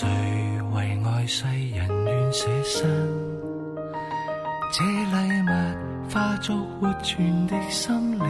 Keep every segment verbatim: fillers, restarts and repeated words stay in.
誰為愛世人願捨身？這禮物化作活存的心靈，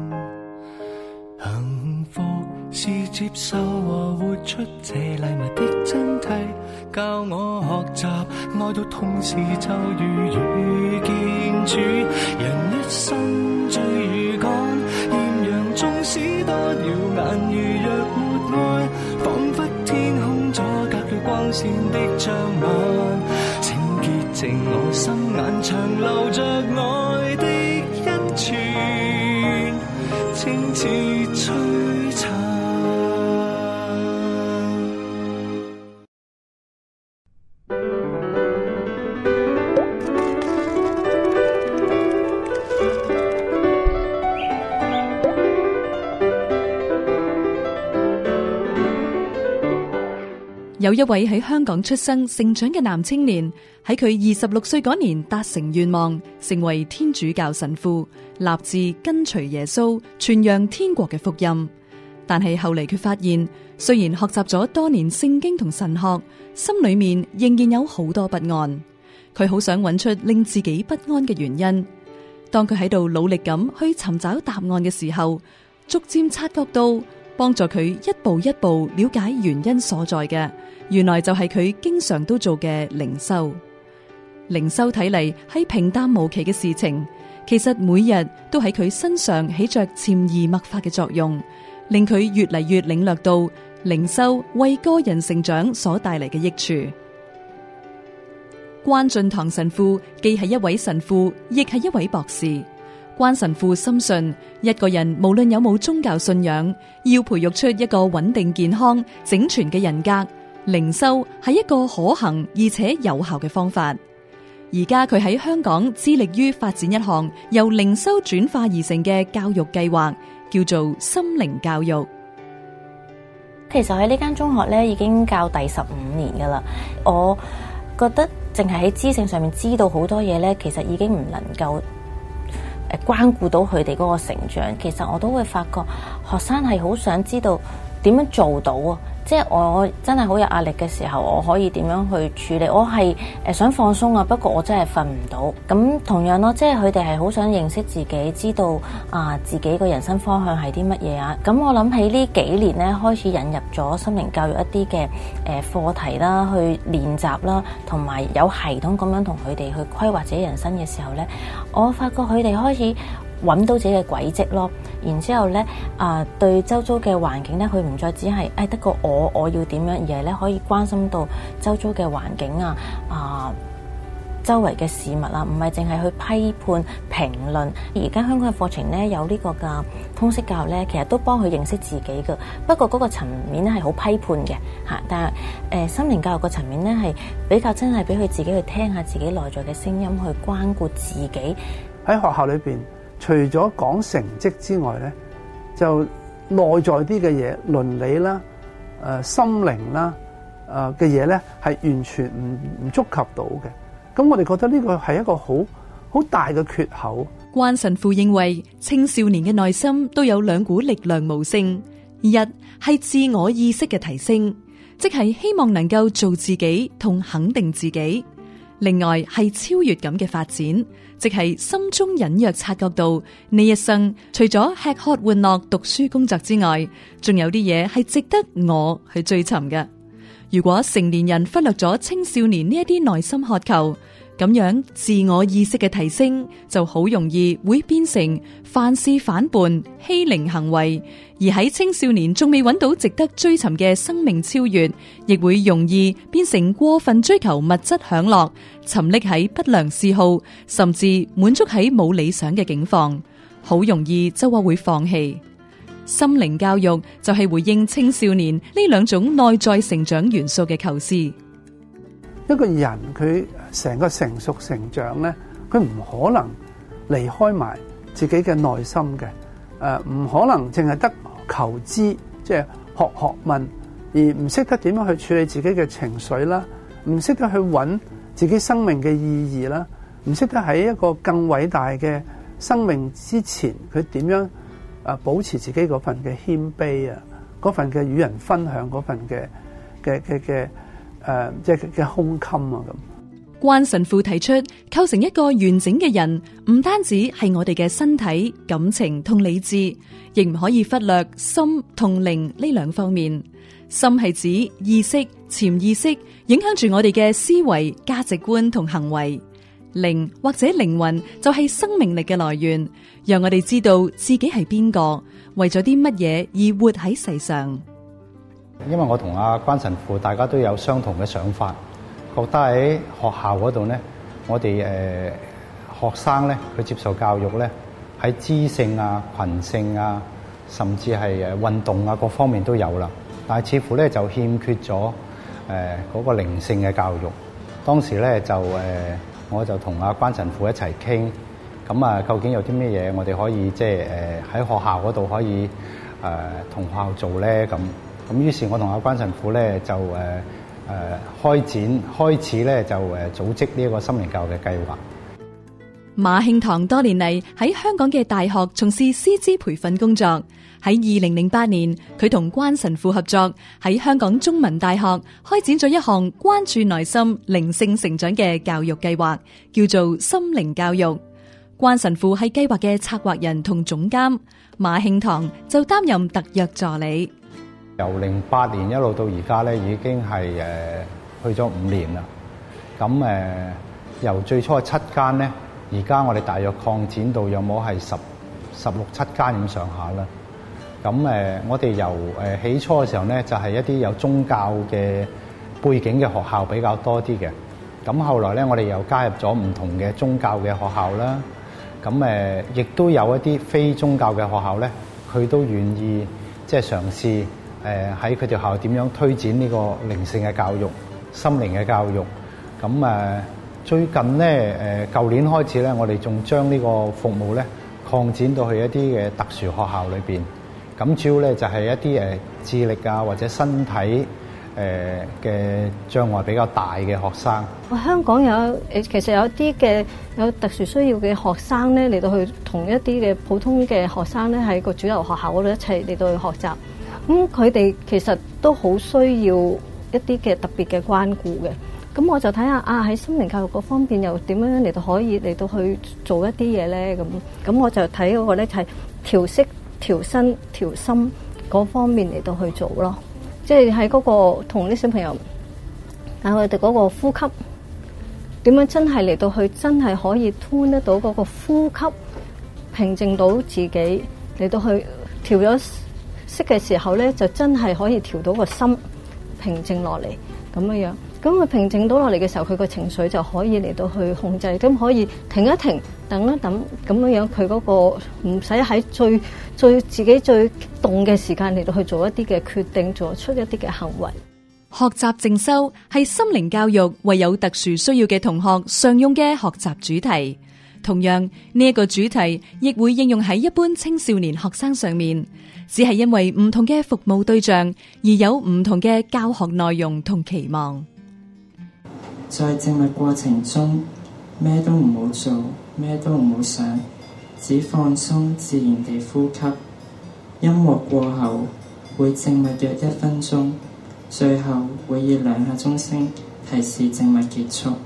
幸福是接受和活出這禮物的真諦，教我學習愛到痛時就如遇見主。人一生最如趕，豔陽縱使多耀眼，如若沒愛，彷彿天空阻隔了光線的障礙。請潔淨我心眼，長留着愛的一串，清似璀璨。 有一位喺香港出生成長嘅男青年，喺佢二十六歲嗰年達成願望，成為天主教神父，立志跟隨耶穌，傳揚天國嘅福音。但係後嚟佢發現，雖然學習咗多年聖經同神學，心裏面仍然有好多不安。佢好想揾出令自己不安嘅原因。當佢喺度努力咁去尋找答案嘅時候，逐漸察覺到幫助佢一步一步了解原因所在嘅，原來就係佢經常都做嘅靈修。靈修睇嚟係平淡無奇嘅事情，其實每日都喺佢身上起着潛移默化嘅作用，令佢越嚟越領略到靈修為個人成長所帶嚟嘅益處。關進堂神父既係一位神父，亦係一位博士。關神父深信，一個人無論有冇宗教信仰，要培育出一個穩定健康整全嘅人格，靈修係一個可行而且有效嘅方法。而家佢喺香港致力於發展一項由靈修轉化而成嘅教育計劃，叫做心靈教育。 其實喺呢間中學咧已經教第十五年噶啦，我覺得淨係喺知性上面知道好多嘢咧，其實已經唔能夠誒關顧到佢哋嗰個成長。其實我都會發覺學生係好想知道點樣做到啊，即係我真係好有壓力嘅時候，我可以點樣去處理？我係誒想放鬆啊，不過我真係瞓唔到。咁同樣咯，即係佢哋係好想認識自己，知道啊自己個人生方向係啲乜嘢啊。咁我諗起呢幾年咧，開始引入咗心靈教育一啲嘅誒課題啦，去練習啦，同埋有，有系統咁樣同佢哋去規劃自己人生嘅時候咧，我發覺佢哋開始揾到自己嘅軌跡咯，然之後咧啊、呃，對周遭嘅環境咧，佢唔再只係誒得個我我要點樣，而係咧可以關心到周遭嘅環境啊啊、呃，周圍嘅事物啊，唔係淨係去批判評論。而家香港嘅課程咧有呢個嘅通識教育咧，其實都幫佢認識自己嘅。不過嗰個層面咧係好批判嘅嚇，但係誒、呃、心靈教育個層面咧係比較真係俾佢自己去聽下自己內在嘅聲音，去關顧自己。 喺學校裏邊，除咗講成績之外咧，就內在啲嘅嘢，倫理啦、誒、呃、心靈啦、誒嘅嘢咧，係完全唔唔觸及到嘅。咁我哋覺得呢個係一個好好大嘅缺口。 關神父認為，青少年嘅內心都有兩股力量無聲，一係自我意識嘅提升，即係希望能夠做自己同肯定自己；另外係超越感嘅發展，即係心中隱約察覺到呢一生除咗吃喝玩樂、讀書工作之外，仲有啲嘢係值得我去追尋嘅。如果成年人忽略咗青少年呢一啲內心渴求，咁樣自我意識嘅提升就好容易會變成犯事反叛、欺凌行為，而喺青少年仲未揾到值得追尋嘅生命超越，亦會容易變成過分追求物質享樂，沉溺喺不良嗜好，甚至滿足喺冇理想嘅境況，好容易就話會放棄。心靈教育就係回應青少年呢兩種內在成長元素嘅構思。 一個人佢成個成熟成長咧，佢唔可能離開埋自己嘅內心嘅，誒、呃、唔可能淨係得求知，即係學學問，而唔識得點樣去處理自己嘅情緒啦，唔識得去揾自己生命嘅意義啦，唔識得喺一個更偉大嘅生命之前，佢點樣誒保持自己嗰份嘅謙卑啊，嗰份嘅與人分享嗰份嘅嘅嘅嘅誒即係嘅胸襟啊咁。 關神父提出，構成一個完整嘅人，唔單止係我哋嘅身體、感情同理智，亦唔可以忽略心同靈呢兩方面。心係指意識、潛意識，影響住我哋嘅思維、價值觀同行為。靈或者靈魂就係生命力嘅來源，讓我哋知道自己係邊個，為咗啲乜嘢而活喺世上。 因為我同阿關神父大家都有相同嘅想法，覺得喺學校嗰度咧，我哋誒、呃、學生咧，佢接受教育咧，喺知性啊、群性啊，甚至係誒運動啊各方面都有啦。但係似乎咧就欠缺咗誒嗰個靈性嘅教育。當時咧就誒、呃，我就同阿關神父一齊傾，咁啊，究竟有啲咩嘢我哋可以即係誒喺學校嗰度可以誒同、呃、學校做咧？咁咁於是，我同阿關神父咧就誒誒、呃、開展開始咧就誒組織呢一個心靈教育嘅計劃。 馬慶堂多年嚟喺香港嘅大學從事師資培訓工作。喺二零零八年，佢同關神父合作，喺香港中文大學開展咗一項關注內心靈性成長嘅教育計劃，叫做心靈教育。關神父係計劃嘅策劃人同總監，馬慶堂就擔任特約助理。 由零八年一路到而家咧，已經係誒、呃、去咗五年啦。咁誒、呃、由最初嘅七間咧，而家我哋大約擴展到有冇係十十六七間咁上下啦。咁誒、呃，我哋由誒、呃、起初嘅時候咧，就係、是、一啲有宗教嘅背景嘅學校比較多啲嘅。咁後來咧，我哋又加入咗唔同嘅宗教嘅學校啦。咁誒，亦、呃、都有一啲非宗教嘅學校咧，佢都願意即係嘗試。誒喺佢哋學校點樣推展呢個靈性嘅教育、心靈嘅教育？咁誒、呃、最近咧誒舊年開始咧，我哋仲將呢個服務咧擴展到去一啲嘅特殊學校裏邊。咁主要咧就係、是、一啲誒智力啊或者身體誒嘅、呃、障礙比較大嘅學生。 香港有誒其實有啲嘅有特殊需要嘅學生咧嚟到去同一啲嘅普通嘅學生咧喺個主流學校嗰度一齊嚟到去學習。咁佢哋其實都好需要一啲嘅特別嘅關顧嘅，咁我就睇下啊喺心靈教育嗰方面又點樣嚟到可以嚟到去做一啲嘢咧，咁咁我就睇嗰個咧就係調息、調身、調心嗰方面嚟到去做咯，即係喺嗰個同啲小朋友啊佢哋嗰個呼吸點樣真係嚟到去真係可以吞得到嗰個呼吸，平靜到自己嚟到去調咗息嘅時候咧，就真係可以調到個心平靜落嚟咁樣樣。咁佢平靜到落嚟嘅時候，佢個情緒就可以嚟到去控制，咁可以停一停，等一等咁樣樣。佢嗰個唔使喺最最自己最激動嘅時間嚟到去做一啲嘅決定，做出一啲嘅行為。 學習靜修係心靈教育為有特殊需要嘅同學常用嘅學習主題。同樣呢一個主題亦會應用喺一般青少年學生上面，只係因為唔同嘅服務對象而有唔同嘅教學內容同期望。 在靜默過程中，咩都唔好做，咩都唔好想，只放鬆自然地呼吸。音樂過後會靜默約一分鐘，最後會以兩下鐘聲提示靜默結束。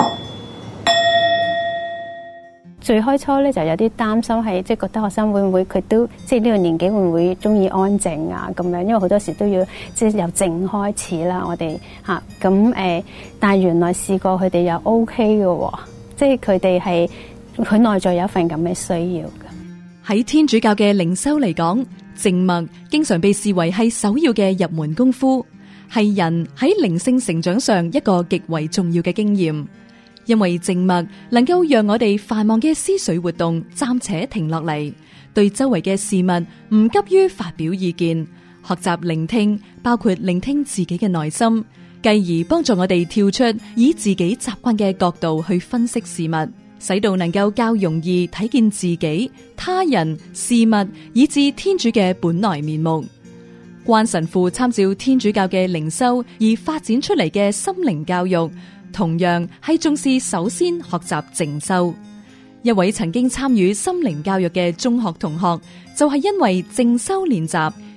最開初咧就有啲擔心，係即係覺得學生會唔會佢都即係呢個年紀會唔會中意安靜啊咁樣，因為好多時都要即係由靜開始啦，我哋嚇咁誒，但係原來試過佢哋又 OK 嘅，即係佢哋係佢內在有一份咁嘅需要嘅。 喺天主教嘅靈修嚟講，靜默經常被視為係首要嘅入門功夫，係人喺靈性成長上一個極為重要嘅經驗。因為靜默能夠讓我哋繁忙嘅思緒活動暫且停落嚟，對周圍嘅事物唔急於發表意見，學習聆聽，包括聆聽自己嘅內心，繼而幫助我哋跳出以自己習慣嘅角度去分析事物，使到能夠較容易睇見自己、他人、事物，以至天主嘅本來面目。關神父參照天主教嘅靈修而發展出嚟嘅心靈教育，同樣係重視首先學習靜修。一位曾經參與心靈教育嘅中學同學，就係因為靜修練習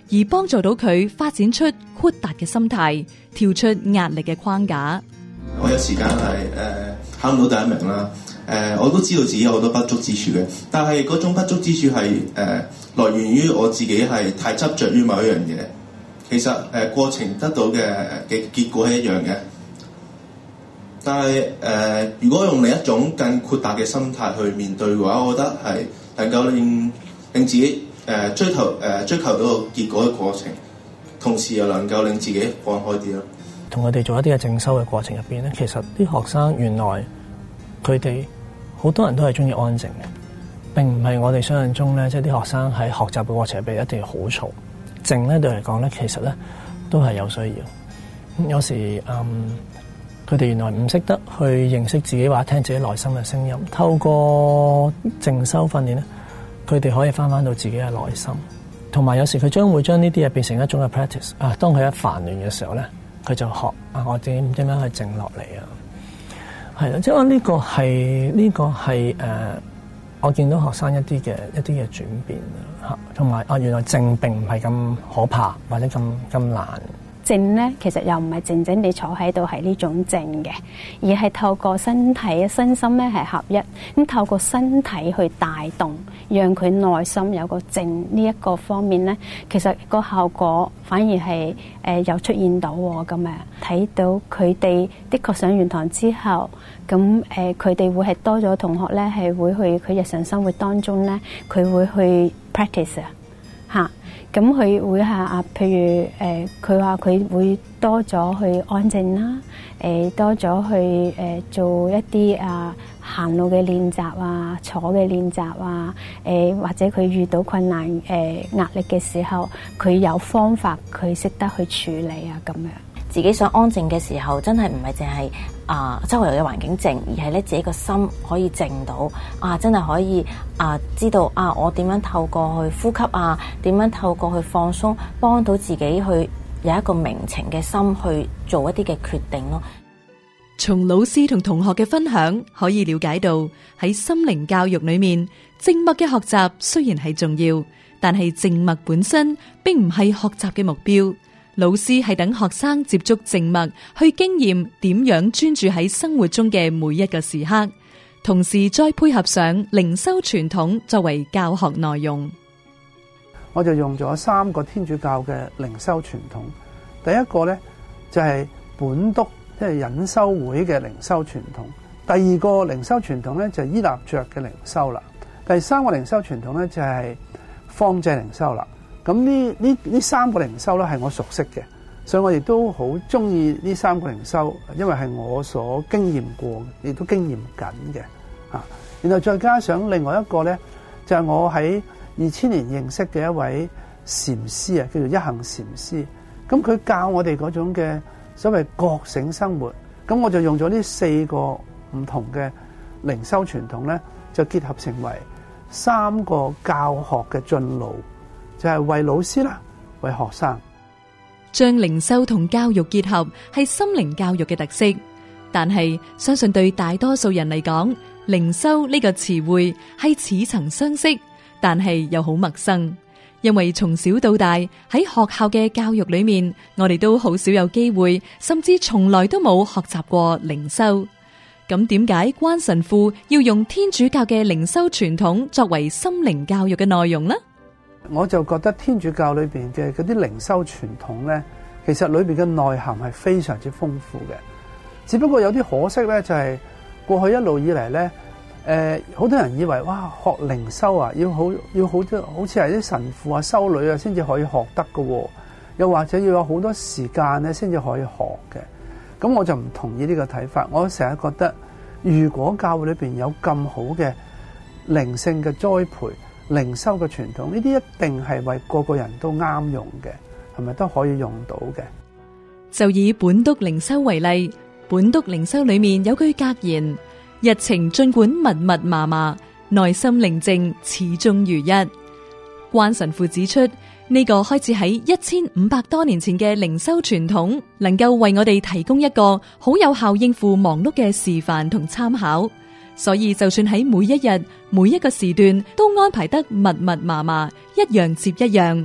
而幫助到佢發展出豁達嘅心態，跳出壓力嘅框架。 我有時間係誒考唔到第一名啦，誒、呃、我都知道自己有好多不足之處嘅，但係嗰種不足之處係誒、呃、來源於我自己係太執着於某一樣嘢。其實誒、呃、過程得到嘅嘅結果係一樣嘅，但係誒、呃、如果用另一種更豁達嘅心態去面對嘅話，我覺得係能夠令令自己誒、呃、追求誒、呃、追求到個結果嘅過程，同時又能夠令自己放開啲咯。 同佢哋做一啲嘅正修嘅過程入邊咧，其實啲學生原來佢哋好多人都係中意安靜嘅，並唔係我哋想象中咧，即係啲學生喺學習嘅過程入邊一定要好嘈。靜咧對嚟講咧，其實咧都係有需要。有時嗯，佢哋原來唔識得去認識自己或者聽自己內心嘅聲音，透過靜修訓練咧，佢哋可以翻翻到自己嘅內心。同埋有時佢將會將呢啲嘢變成一種嘅 practice 啊。當佢一煩亂嘅時候咧，佢就學啊，我點點樣去靜落嚟啊？係啦，即係我呢個係呢、這個係誒、呃，我見到學生一啲嘅一啲嘅轉變嚇，同埋啊，原來靜並唔係咁可怕或者咁咁難。 靜咧，其實又唔係靜靜地坐喺度係呢種靜嘅，而係透過身體身心咧係合一，咁透過身體去帶動，讓佢內心有個靜呢一個方面咧，其實個效果反而係誒有出現到咁樣，睇到佢哋的確上完堂之後，咁誒佢哋會係多咗同學咧係會去佢日常生活當中咧，佢會去 practice 啊嚇。咁佢會係啊，譬如誒，佢話佢會多咗去安靜啦，誒、呃、多咗去誒、呃、做一啲啊行路嘅練習啊，坐嘅練習啊，誒、呃、或者佢遇到困難誒、呃、壓力嘅時候，佢有方法，佢識得去處理啊咁樣。 自己想安靜嘅時候，真係唔係淨係啊周圍嘅環境靜，而係咧自己個心可以靜到啊，真係可以啊知道啊我點樣透過去呼吸啊，點樣透過去放鬆，幫到自己去有一個明情嘅心去做一啲嘅決定咯。 從老師同同學嘅分享可以了解到，喺心靈教育裏面，靜默嘅學習雖然係重要，但係靜默本身並唔係學習嘅目標。老師係等學生接觸靜默，去經驗點樣專注喺生活中嘅每一個時刻，同時再配合上靈修傳統作為教學內容。 我就用咗三個天主教嘅靈修傳統。第一個咧就係本篤，即係隱修會嘅靈修傳統。第二個靈修傳統咧就係依納爵嘅靈修啦。第三個靈修傳統咧就係方濟靈修啦。咁呢呢呢三個靈修咧係我熟悉嘅，所以我亦都好中意呢三個靈修，因為係我所經驗過，亦都經驗緊嘅啊。然後再加上另外一個咧，就係我喺二千年認識嘅一位禪師啊，叫做一行禪師。咁佢教我哋嗰種嘅所謂覺醒生活，咁我就用咗呢四個唔同嘅靈修傳統咧，就結合成為三個教學嘅進路。就係、是、為老師啦，為學生。 將靈修同教育結合係心靈教育嘅特色，但係相信對大多數人嚟講，靈修呢個詞彙係似曾相識，但係又好陌生。因為從小到大喺學校嘅教育裏面，我哋都好少有機會，甚至從來都冇學習過靈修。咁點解關神父要用天主教嘅靈修傳統作為心靈教育嘅內容呢？ 我就覺得天主教裏邊嘅嗰啲靈修傳統咧，其實裏邊嘅內涵係非常之豐富嘅。只不過有啲可惜咧，就係過去一路以嚟咧，誒，好多人以為哇，學靈修啊，要好要好多，好似係啲神父啊、修女啊先至可以學得㗎，又或者要有好多時間咧先至可以學嘅。咁我就唔同意呢個睇法。我成日覺得，如果教會裏邊有咁好嘅靈性嘅栽培、靈修嘅傳統，呢啲一定係為個個人都啱用嘅，係咪都可以用到嘅？ 就以本篤靈修為例，本篤靈修裏面有句格言：日程盡管密密麻麻，內心寧靜始終如一。關神父指出，呢、這個開始喺一千五百多年前嘅靈修傳統，能夠為我哋提供一個好有效應付忙碌嘅示範同參考。所以就算喺每一日每一個時段都安排得密密麻麻，一樣接一樣，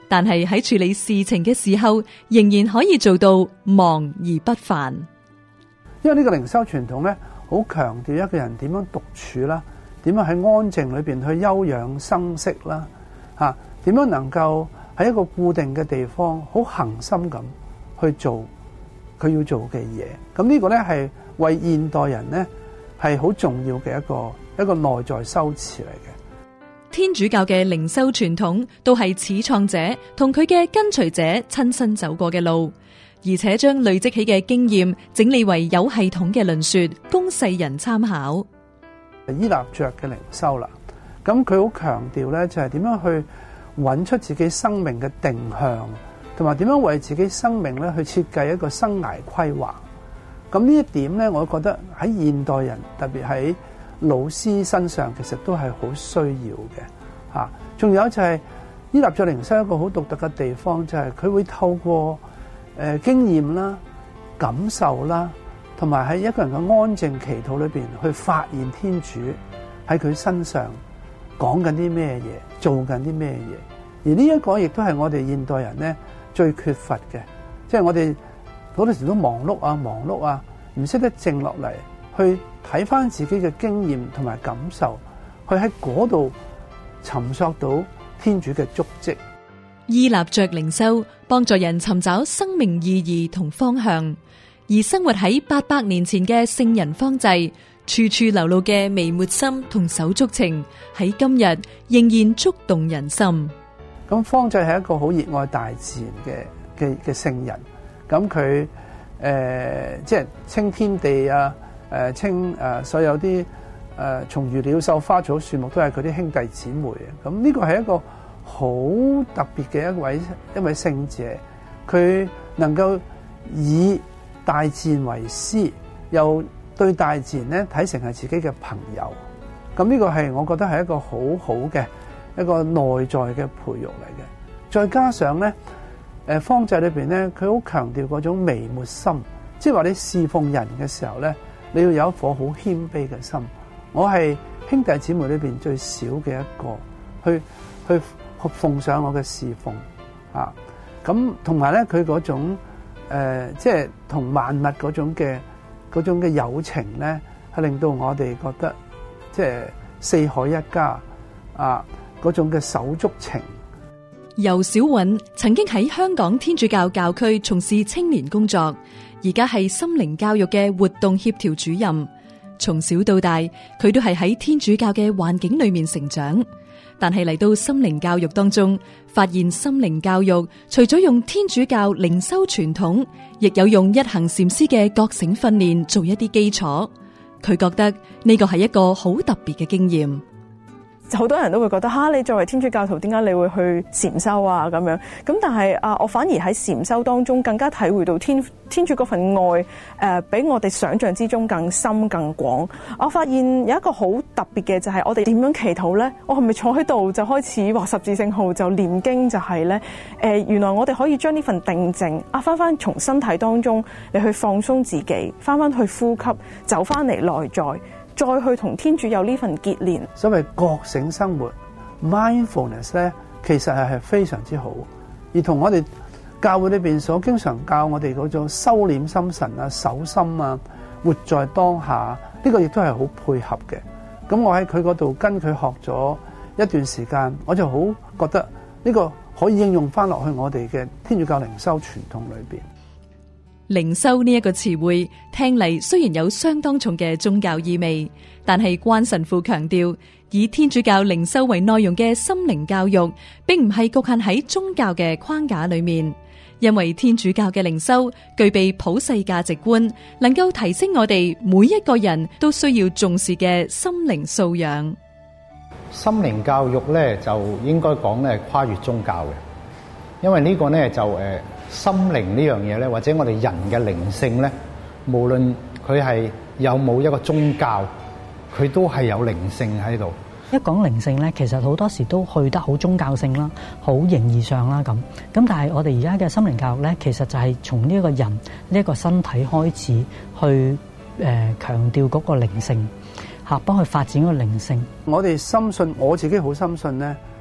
但係喺處理事情嘅時候，仍然可以做到忙而不煩。 因為呢個靈修傳統咧，好強調一個人點樣獨處啦，點樣喺安靜裏邊去休養生息啦，吓點樣能夠喺一個固定嘅地方好恆心咁去做佢要做嘅嘢。咁呢個咧係為現代人咧係好重要嘅一個一個內在修持嚟嘅。 天主教嘅靈修傳統都係始創者同佢嘅跟隨者親身走過嘅路，而且將累積起嘅經驗整理為有系統嘅論說，供世人參考。 依納爵嘅靈修啦，咁佢好強調咧就係點樣去揾出自己生命嘅定向，同埋點樣為自己生命咧去設計一個生涯規劃。咁呢一點咧，我覺得喺現代人，特別喺老師身上，其實都係好需要嘅嚇。仲有就係依納爵靈修一個好獨特嘅地方，就係佢會透過誒經驗啦、感受啦，同埋喺一個人嘅安靜祈禱裏邊去發現天主喺佢身上講緊啲咩嘢，做緊啲咩嘢。而呢一個亦都係我哋現代人咧最缺乏嘅，即係我哋好多時都忙碌啊、忙碌啊，唔識得靜落嚟去睇翻自己嘅經驗同埋感受，去喺嗰度尋索到天主嘅足跡。 依納爵靈修幫助人尋找生命意義同方向，而生活喺八百年前嘅聖人方濟，處處流露嘅微末心同手足情，喺今日仍然觸動人心。 咁方濟係一個好熱愛大自然嘅嘅嘅聖人，咁佢誒即係清天地啊，誒、呃、清誒、呃、所有啲誒蟲魚鳥獸花草樹木都係佢啲兄弟姊妹嘅。咁呢個係一個好特別嘅一位一位聖者，佢能夠以大自然為師，又對大自然咧睇成係自己嘅朋友。咁呢個係我覺得係一個好好嘅一個內在嘅培育嚟嘅。再加上咧，誒方濟裏邊咧，佢好強調嗰種微末心，即係話你侍奉人嘅時候咧，你要有一顆好謙卑嘅心。我係兄弟姊妹裏邊最少嘅一個，去去奉上我嘅侍奉啊。咁同埋咧，佢嗰種誒，即係同萬物嗰種嘅嗰種嘅友情咧，係令到我哋覺得即係四海一家啊嗰種嘅手足情。 游小韻曾經喺香港天主教教區從事青年工作，而家係心靈教育嘅活動協調主任。從小到大，佢都係喺天主教嘅環境裏面成長。但係嚟到心靈教育當中，發現心靈教育除咗用天主教靈修傳統，亦有用一行禪師嘅覺醒訓練做一啲基礎。佢覺得呢個係一個好特別嘅經驗。 好多人都會覺得哈，你作為天主教徒，點解你會去禪修啊？咁樣咁，但係啊，我反而喺禪修當中更加體會到天天主嗰份愛，誒、呃，比我哋想象之中更深更廣。我發現有一個好特別嘅就係我哋點樣祈禱咧？我係咪坐喺度就開始畫十字聖號就念經就係咧？誒、呃，原來我哋可以將呢份定靜啊，翻翻從身體當中你去放鬆自己，翻翻去呼吸，走翻嚟內在。再去同天主有呢份結連， 所謂覺醒生活 mindfulness 咧，其實係係非常之好。而同我哋教會裏邊所經常教我哋嗰種收斂心神啊、守心啊、活在當下，呢個亦都係好配合嘅。咁我喺佢嗰度跟佢學咗一段時間，我就好覺得呢個可以應用翻落去我哋嘅天主教靈修傳統裏邊。 靈修呢一個詞彙聽嚟雖然有相當重嘅宗教意味，但係關神父強調，以天主教靈修為內容嘅心靈教育，並唔係局限喺宗教嘅框架裏面，因為天主教嘅靈修具備普世價值觀，能夠提升我哋每一個人都需要重視嘅心靈素養。 心靈教育咧就應該講咧跨越宗教嘅，因為呢個咧就誒。心靈呢樣嘢咧，或者我哋人嘅靈性咧，無論佢係有冇一個宗教，佢都係有靈性喺度。 一講靈性咧，其實好多時都去得好宗教性啦，好形而上啦咁。咁但係我哋而家嘅心靈教育咧，其實就係從呢一個人呢一、這個身體開始去誒、呃、強調嗰個靈性，嚇幫佢發展個靈性。 我哋深信，我自己好深信咧。誒、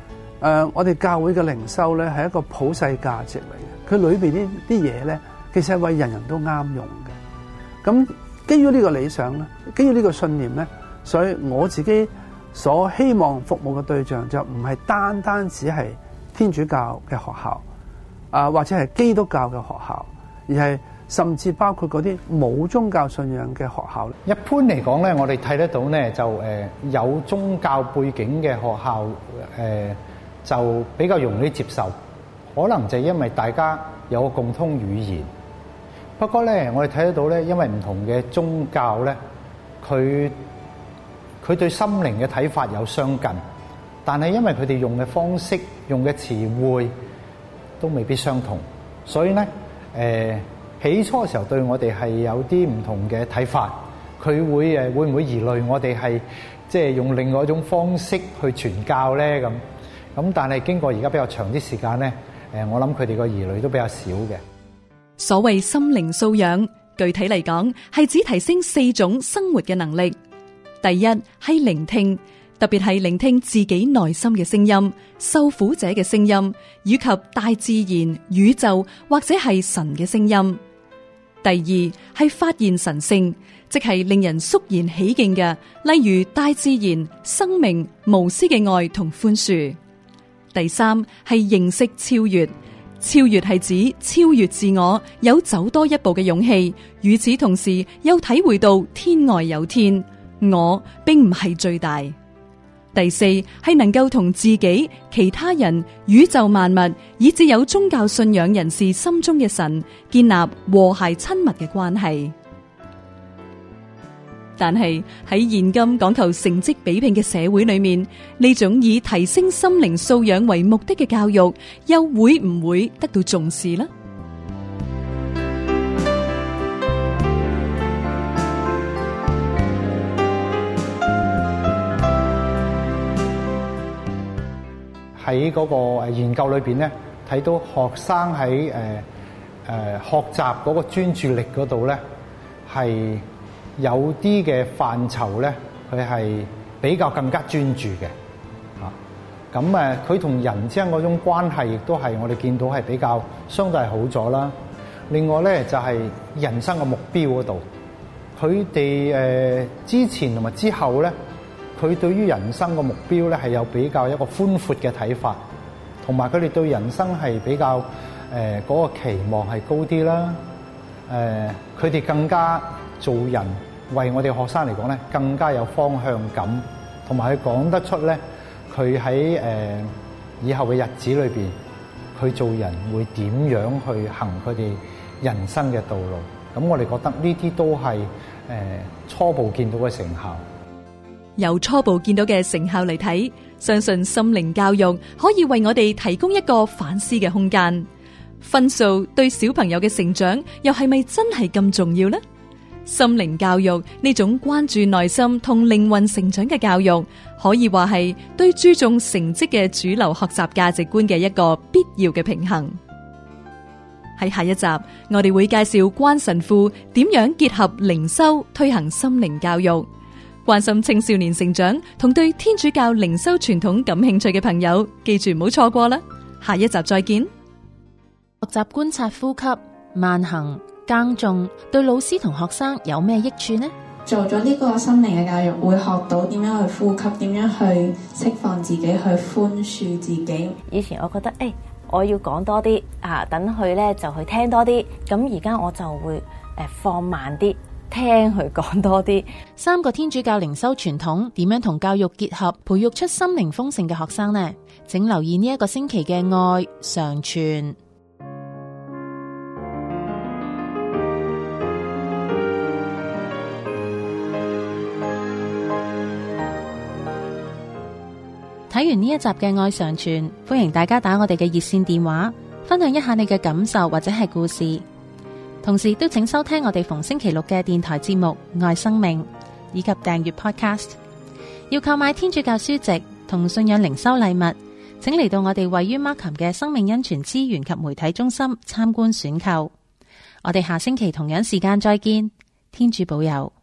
呃，我哋教會嘅靈修咧係一個普世價值嚟嘅，佢裏邊呢啲嘢咧，其實係為人人都啱用嘅。咁基於呢個理想咧，基於呢個信念咧，所以我自己所希望服務嘅對象就唔係單單只係天主教嘅學校啊，或者係基督教嘅學校，而係甚至包括嗰啲冇宗教信仰嘅學校。 一般嚟講咧，我哋睇得到咧，就誒有宗教背景嘅學校誒就比較容易接受，可能就係因為大家有個共通語言。不過咧，我哋睇得到咧，因為唔同嘅宗教咧，佢佢對心靈嘅睇法有相近，但係因為佢哋用嘅方式、用嘅詞彙都未必相同，所以咧誒起初嘅時候對我哋係有啲唔同嘅睇法。佢會誒會唔會疑慮我哋係即係用另外一種方式去傳教咧？咁咁，但係經過而家比較長啲時間咧，誒我諗佢哋個疑慮都比較少嘅。 所謂心靈素養，具體嚟講係指提升四種生活嘅能力。第一係聆聽，特別係聆聽自己內心嘅聲音、受苦者嘅聲音，以及大自然、宇宙或者係神嘅聲音。第二係發現神性，即係令人肅然起敬嘅，例如大自然、生命、無私嘅愛同寬恕。第三係認識超越。超越係指超越自我，有走多一步嘅勇氣，與此同時又體會到天外有天，我並唔係最大。第四係能夠同自己、其他人、宇宙萬物，以至有宗教信仰人士心中嘅神，建立和諧親密嘅關係。但係喺現今講求成績比拼嘅社會裏面，呢種以提升心靈素養為目的嘅教育，又會唔會得到重視呢？ 喺嗰個研究裏邊咧，睇到學生喺誒誒學習嗰個專注力嗰度咧，係有啲嘅範疇咧，佢係比較更加專注嘅嚇。咁誒，佢同人之間嗰種關係，亦都係我哋見到係比較相對係好咗啦。另外咧，就係人生嘅目標嗰度，佢哋誒之前同埋之後咧，佢對於人生嘅目標咧係有比較一個寬闊嘅睇法，同埋佢哋對人生係比較誒嗰個期望係高啲啦。誒，佢哋更加做人，為我哋學生嚟講咧，更加有方向感，同埋佢講得出咧，佢喺誒以後嘅日子裏邊，佢做人會點樣去行佢哋人生嘅道路。咁我哋覺得呢啲都係誒初步見到嘅成效。 由初步見到嘅成效嚟睇，相信心靈教育可以為我哋提供一個反思嘅空間。分數對小朋友嘅成長又係咪真係咁重要呢？心靈教育呢種關注內心同靈魂成長嘅教育，可以話係對注重成績嘅主流學習價值觀嘅一個必要嘅平衡。喺下一集，我哋會介紹關神父點樣結合靈修推行心靈教育。關心青少年成長同對天主教靈修傳統感興趣嘅朋友，記住唔好錯過啦！下一集再見。 學習觀察呼吸、慢行、耕種，對老師同學生有咩益處呢？ 做咗呢個心靈嘅教育，會學到點樣去呼吸，點樣去釋放自己，去寬恕自己。 以前我覺得，誒、欸，我要講多啲啊，等佢咧就去聽多啲。咁而家我就會誒、呃、放慢啲，聽佢講多啲。 三個天主教靈修傳統點樣同教育結合，培育出心靈豐盛嘅學生呢？請留意呢一個星期嘅愛常傳。睇完呢一集嘅愛常傳，歡迎大家打我哋嘅熱線電話，分享一下你嘅感受或者係故事。同時都請收聽我哋逢星期六嘅電台節目《愛生命》，以及訂閱 Podcast。要購買天主教書籍同信仰靈修禮物，請嚟到我哋位於 Markham 嘅生命恩泉資源及媒體中心參觀選購。我哋下星期同樣時間再見，天主保佑。